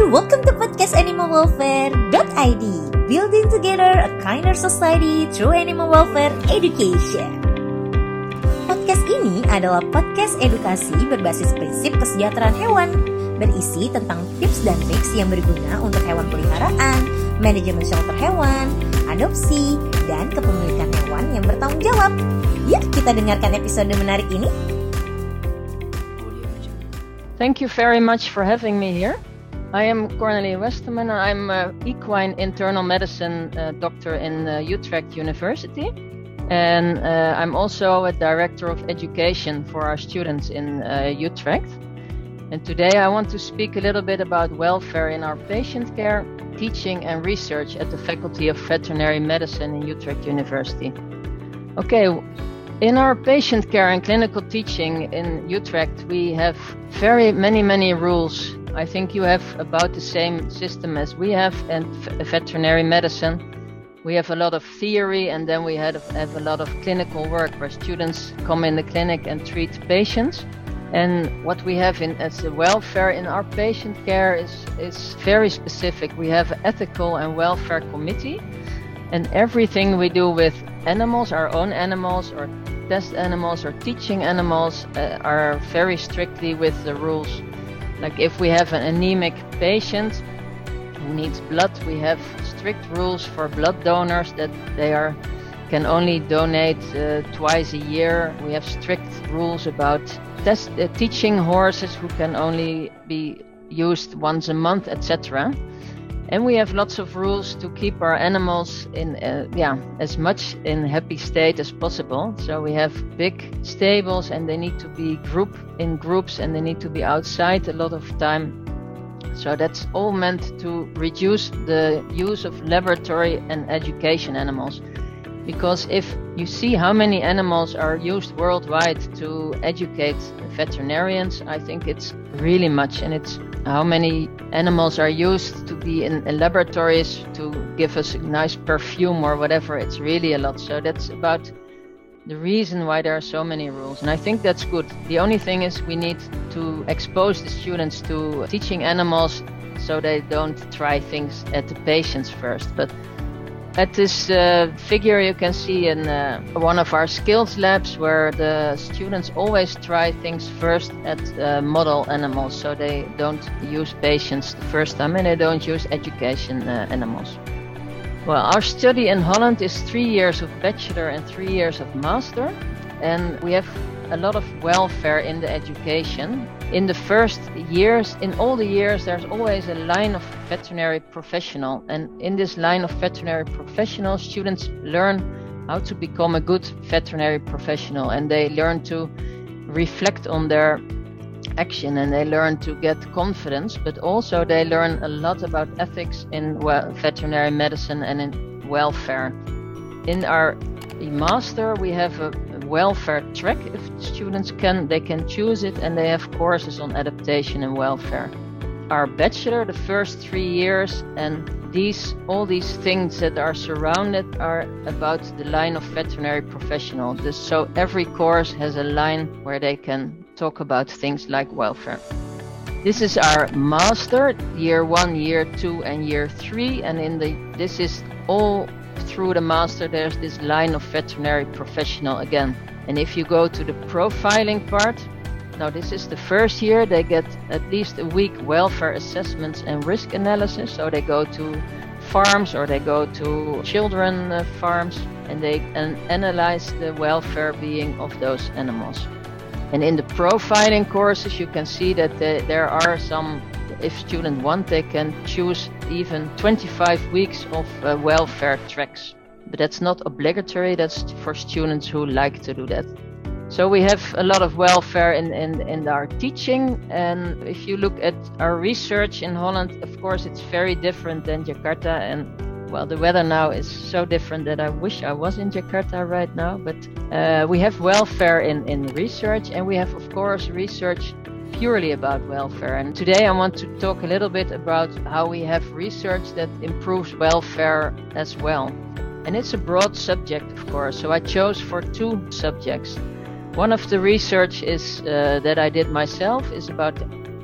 welcome to podcast animalwelfare.id, building together a kinder society through animal welfare education. Podcast ini adalah podcast edukasi berbasis prinsip kesejahteraan hewan, berisi tentang tips dan triks yang berguna untuk hewan peliharaan, manajemen shelter hewan, adopsi, dan kepemilikan hewan yang bertanggung jawab. Yuk kita dengarkan episode menarik ini. Thank you very much for having me here. I am Cornelie Westerman. I'm an equine internal medicine doctor in Utrecht University. And I'm also a director of education for our students in Utrecht. And today I want to speak a little bit about welfare in our patient care, teaching and research at the Faculty of Veterinary Medicine in Utrecht University. Okay, in our patient care and clinical teaching in Utrecht, we have very many rules. I think you have about the same system as we have in veterinary medicine. We have a lot of theory, and then we have a lot of clinical work where students come in the clinic and treat patients. And what we have as the welfare in our patient care is very specific. We have an ethical and welfare committee, and everything we do with animals, our own animals or test animals or teaching animals, are very strictly with the rules. Like if we have an anemic patient who needs blood, we have strict rules for blood donors that they can only donate twice a year. We have strict rules about teaching horses who can only be used once a month, etc. And we have lots of rules to keep our animals in as much in happy state as possible. So we have big stables, and they need to be grouped in groups, and they need to be outside a lot of time. So that's all meant to reduce the use of laboratory and education animals. Because if you see how many animals are used worldwide to educate veterinarians, I think it's really much. And it's how many animals are used to be in laboratories to give us a nice perfume or whatever. It's really a lot. So that's about the reason why there are so many rules. And I think that's good. The only thing is we need to expose the students to teaching animals so they don't try things at the patients first. But at this figure you can see in one of our skills labs where the students always try things first at model animals, so they don't use patients the first time and they don't use education animals. Well, our study in Holland is 3 years of bachelor and 3 years of master, and we have a lot of welfare in the education. In the first years, in all the years, there's always a line of veterinary professional. And in this line of veterinary professional, students learn how to become a good veterinary professional. And they learn to reflect on their action, and they learn to get confidence. But also they learn a lot about ethics in veterinary medicine and in welfare. In our master, we have a welfare track. If students can choose it, and they have courses on adaptation and welfare. Our bachelor, the first 3 years, and all these things that are surrounded are about the line of veterinary professional. So every course has a line where they can talk about things like welfare. This is our master, year 1, year 2, and year 3, and this is all through the master. There's this line of veterinary professional again. And if you go to the profiling part, now this is the first year, they get at least a week welfare assessments and risk analysis. So they go to farms or they go to children farms, and they analyze the welfare being of those animals. And in the profiling courses, you can see that there are some, if students want, they can choose even 25 weeks of welfare tracks. But that's not obligatory, that's for students who like to do that. So we have a lot of welfare in our teaching. And if you look at our research in Holland, of course it's very different than Jakarta. And well, the weather now is so different that I wish I was in Jakarta right now. But we have welfare in research, and we have, of course, research purely about welfare. And today I want to talk a little bit about how we have research that improves welfare as well. And it's a broad subject, of course, so I chose for 2 subjects. One of the research is that I did myself is about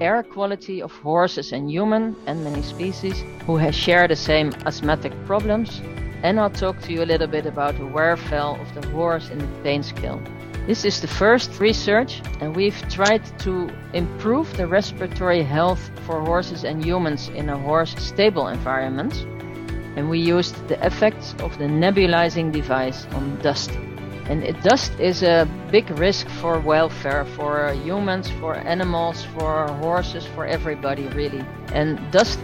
air quality of horses and human and many species who share the same asthmatic problems. And I'll talk to you a little bit about the wear-fall of the horse in the pain scale. This is the first research, and we've tried to improve the respiratory health for horses and humans in a horse stable environment. And we used the effects of the nebulizing device on dust. And dust is a big risk for welfare, for humans, for animals, for horses, for everybody really. And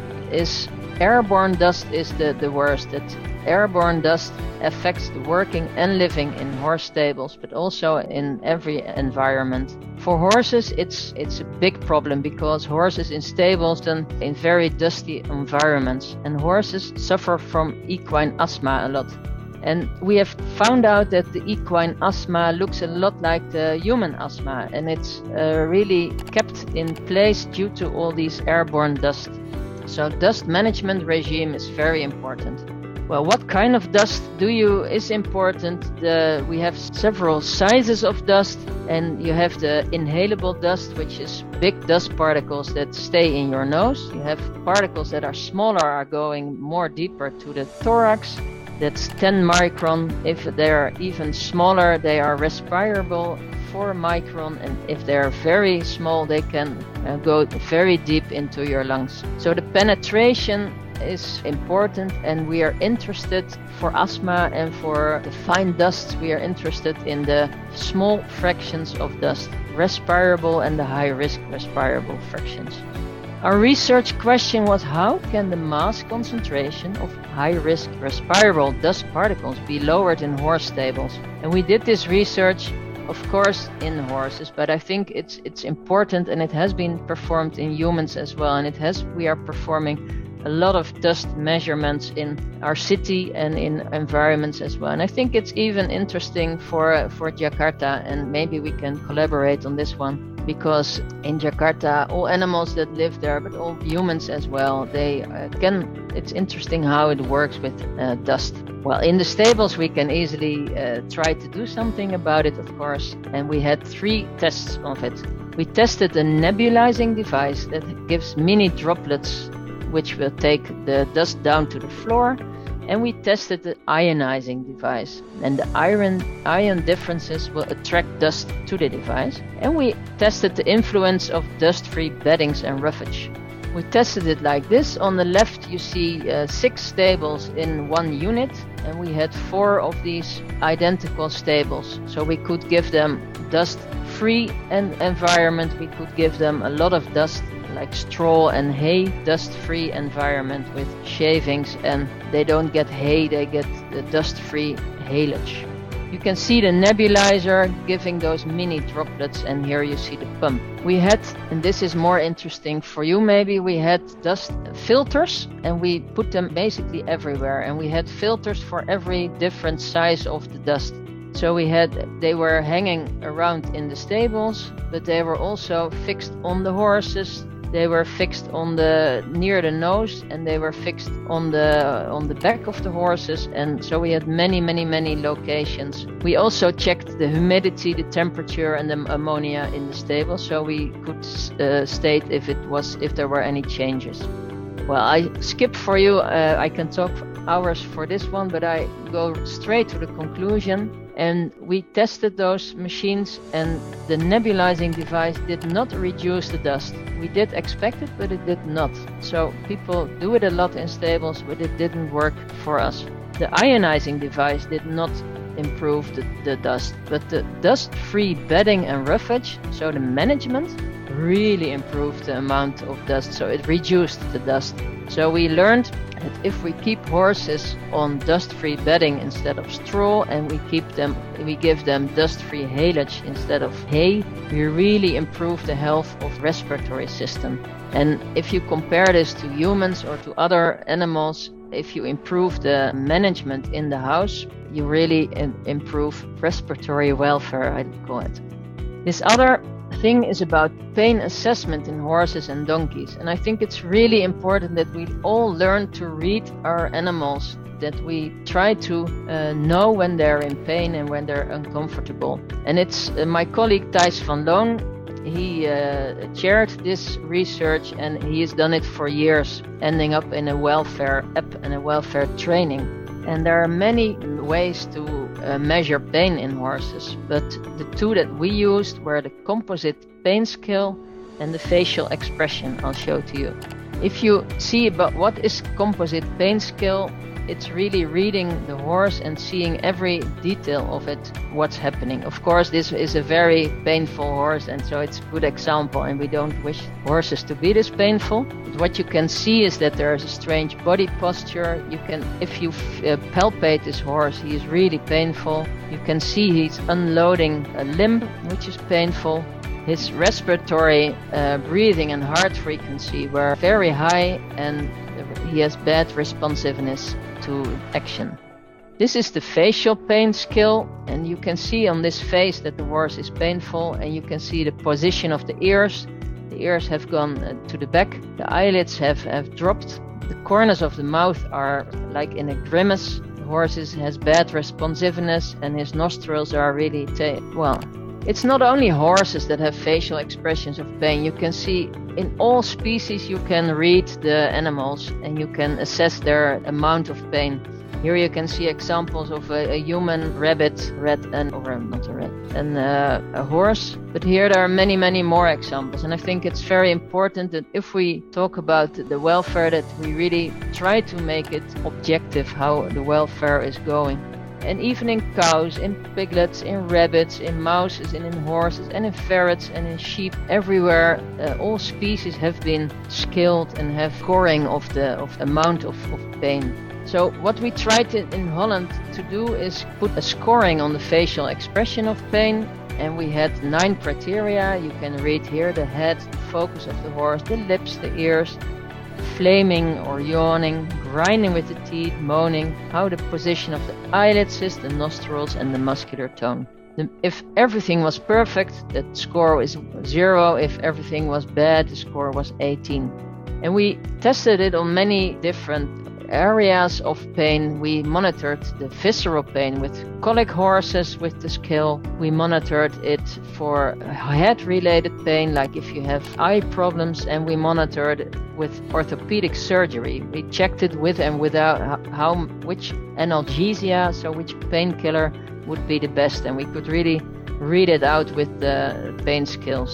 airborne dust is the worst. Airborne dust affects the working and living in horse stables, but also in every environment. For horses, it's a big problem because horses in stables and in very dusty environments, and horses suffer from equine asthma a lot. And we have found out that the equine asthma looks a lot like the human asthma, and it's really kept in place due to all these airborne dust. So dust management regime is very important. Well, what kind of dust is important? We have several sizes of dust, and you have the inhalable dust, which is big dust particles that stay in your nose. You have particles that are smaller, are going more deeper to the thorax. That's 10 micron. If they're even smaller, they are respirable, 4 micron, and if they're very small, they can go very deep into your lungs. So the penetration is important, and we are interested for asthma and for the fine dust. We are interested in the small fractions of dust, respirable and the high-risk respirable fractions. Our research question was, how can the mass concentration of high-risk respirable dust particles be lowered in horse stables? And we did this research, of course, in horses, but I think it's important, and it has been performed in humans as well. And we are performing a lot of dust measurements in our city and in environments as well. And I think it's even interesting for Jakarta, and maybe we can collaborate on this one. Because in Jakarta, all animals that live there, but all humans as well, it's interesting how it works with dust. Well, in the stables, we can easily try to do something about it, of course. And we had 3 tests of it. We tested a nebulizing device that gives mini droplets, which will take the dust down to the floor. And we tested the ionizing device, and the ion differences will attract dust to the device. And we tested the influence of dust-free beddings and roughage. We tested it like this. On the left you see 6 stables in one unit, and we had 4 of these identical stables. So we could give them dust-free environment, we could give them a lot of dust like straw and hay, dust-free environment with shavings, and they don't get hay, they get the dust-free haylage. You can see the nebulizer giving those mini droplets, and here you see the pump. We had, and this is more interesting for you maybe, we had dust filters, and we put them basically everywhere, and we had filters for every different size of the dust. So they were hanging around in the stables, but they were also fixed on the horses. They were fixed near the nose, and they were fixed on the back of the horses, and so we had many locations. We also checked the humidity, the temperature, and the ammonia in the stable, so we could state if there were any changes. Well, I skip for you. I can talk for hours for this one, but I go straight to the conclusion. And we tested those machines, and the nebulizing device did not reduce the dust. We did expect it, but it did not. So people do it a lot in stables, but it didn't work for us. The ionizing device did not improve the dust, but the dust-free bedding and roughage, so the management, really improved the amount of dust. So it reduced the dust. So we learned that if we keep horses on dust-free bedding instead of straw, and we give them dust-free haylage instead of hay, we really improve the health of respiratory system. And if you compare this to humans or to other animals, if you improve the management in the house, you really improve respiratory welfare, I'd call it. This other thing is about pain assessment in horses and donkeys, and I think it's really important that we all learn to read our animals, that we try to know when they're in pain and when they're uncomfortable. And it's my colleague Thijs van Loon, he chaired this research, and he has done it for years, ending up in a welfare app and a welfare training. And there are many ways to measure pain in horses, but the two that we used were the composite pain scale and the facial expression. I'll show to you. If you see about what is composite pain scale, it's really reading the horse and seeing every detail of it, what's happening. Of course, this is a very painful horse, and so it's a good example, and we don't wish horses to be this painful. But what you can see is that there is a strange body posture. You can, if you palpate this horse, he is really painful. You can see he's unloading a limb, which is painful. His respiratory, breathing and heart frequency were very high, and he has bad responsiveness to action. This is the facial pain scale, and you can see on this face that the horse is painful, and you can see the position of the ears. The ears have gone to the back, the eyelids have dropped, the corners of the mouth are like in a grimace. The horse has bad responsiveness, and his nostrils are really it's not only horses that have facial expressions of pain. You can see in all species you can read the animals and you can assess their amount of pain. Here you can see examples of a human, rabbit, a horse. But here there are many, many more examples. And I think it's very important that if we talk about the welfare, that we really try to make it objective how the welfare is going. And even in cows, in piglets, in rabbits, in mouses, and in horses, and in ferrets, and in sheep, everywhere, all species have been scaled and have scoring of amount of pain. So what we tried in Holland to do is put a scoring on the facial expression of pain, and we had 9 criteria. You can read here the head, the focus of the horse, the lips, the ears, flaming or yawning, grinding with the teeth, moaning, how the position of the eyelids is, the nostrils, and the muscular tone. If everything was perfect, the score was 0. If everything was bad, the score was 18. And we tested it on many different areas of pain. We monitored the visceral pain with colic horses with the scale. We monitored it for head-related pain, like if you have eye problems, and we monitored it with orthopedic surgery. We checked it with and without which analgesia, so which painkiller would be the best, and we could really read it out with the pain scales.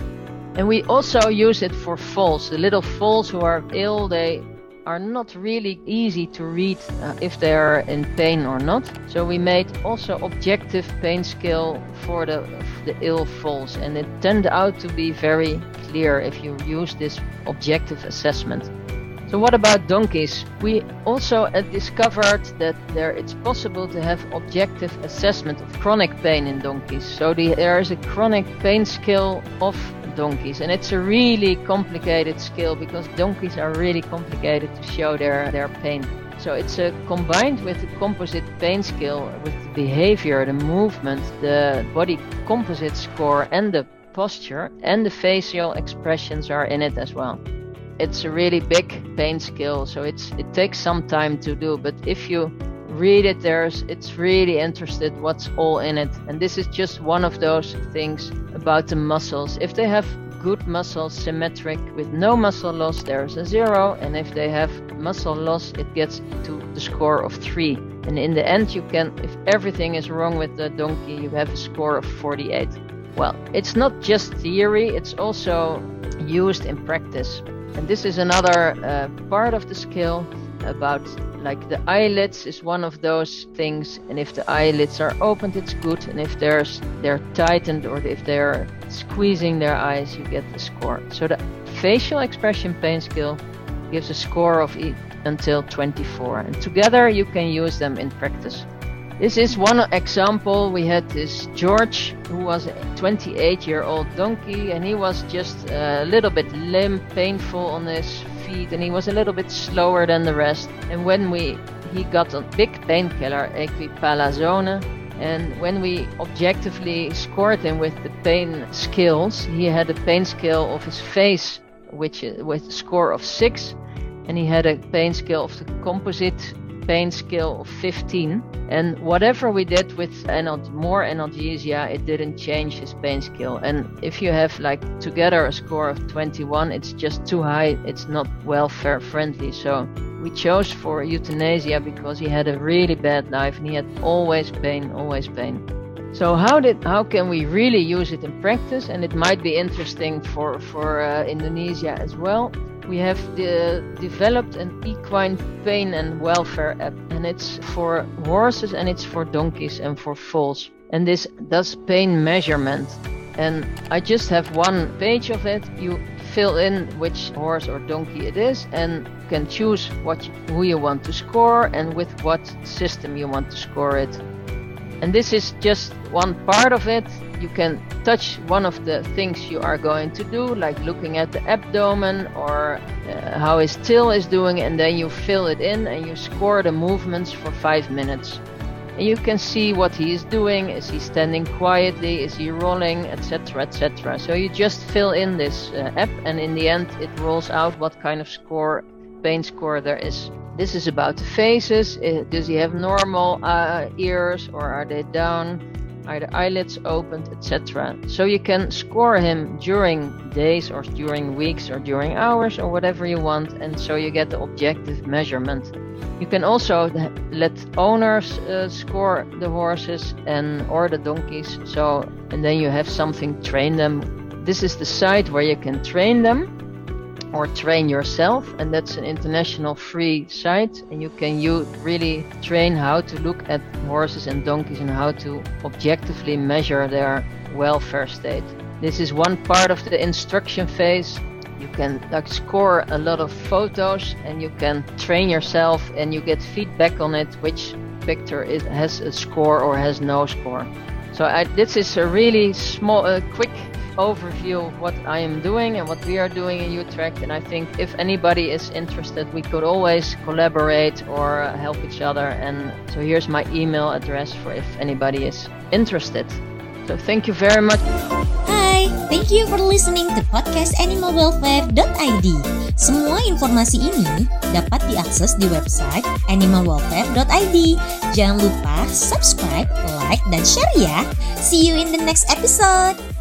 And we also use it for foals. The little foals who are ill, they are not really easy to read if they are in pain or not. So we made also objective pain scale for the ill foals, and it turned out to be very clear if you use this objective assessment. So what about donkeys? We also discovered that it's possible to have objective assessment of chronic pain in donkeys. So there is a chronic pain scale of donkeys, and it's a really complicated scale because donkeys are really complicated to show their pain. So it's combined with the composite pain scale, with the behavior, the movement, the body composite score, and the posture, and the facial expressions are in it as well. It's a really big pain scale, so it takes some time to do, but if you read it, it's really interested what's all in it. And this is just one of those things about the muscles. If they have good muscles, symmetric, with no muscle loss, there's a 0. And if they have muscle loss, it gets to the score of 3. And in the end, if everything is wrong with the donkey, you have a score of 48. Well, it's not just theory, it's also used in practice. And this is another part of the scale about, like, the eyelids is one of those things, and if the eyelids are opened, it's good, and if they're tightened or if they're squeezing their eyes, you get the score. So the facial expression pain scale gives a score of until 24, and together you can use them in practice. This is one example. We had this George, who was a 28-year-old donkey, and he was just a little bit limp, painful on his feet, and he was a little bit slower than the rest. And when he got a big painkiller, equipalazone, and when we objectively scored him with the pain scales, he had a pain scale of his face, with a score of 6, and he had a pain scale of the composite pain scale of 15. And whatever we did with more analgesia, it didn't change his pain scale. And if you have like together a score of 21, it's just too high. It's not welfare friendly. So we chose for euthanasia because he had a really bad life and he had always pain. So how can we really use it in practice? And it might be interesting for Indonesia as well. We have developed an equine pain and welfare app, and it's for horses and it's for donkeys and for foals. And this does pain measurement. And I just have one page of it. You fill in which horse or donkey it is and can choose who you want to score and with what system you want to score it. And this is just one part of it. You can touch one of the things you are going to do, like looking at the abdomen or how his tail is doing, and then you fill it in and you score the movements for 5 minutes. And you can see what he is doing. Is he standing quietly? Is he rolling? Etc. etc. So you just fill in this app, and in the end it rolls out what kind of pain score there is. This is about the faces. Does he have normal ears, or are they down? Are the eyelids opened, etc. So you can score him during days or during weeks or during hours or whatever you want, and so you get the objective measurement. You can also let owners score the horses or the donkeys, and then you have something to train them. This is the site where you can train them or train yourself, and that's an international free site, and you can really train how to look at horses and donkeys and how to objectively measure their welfare state. This is one part of the instruction phase. You can score a lot of photos and you can train yourself and you get feedback on it, which picture has a score or has no score. So this is a really quick overview of what I am doing and what we are doing in Utrecht, and I think if anybody is interested, we could always collaborate or help each other. And so here's my email address for if anybody is interested. So thank you very much. Hai, thank you for listening to podcast animalwelfare.id. Semua informasi ini dapat diakses di website animalwelfare.id. Jangan lupa subscribe, like, dan share ya. See you in the next episode.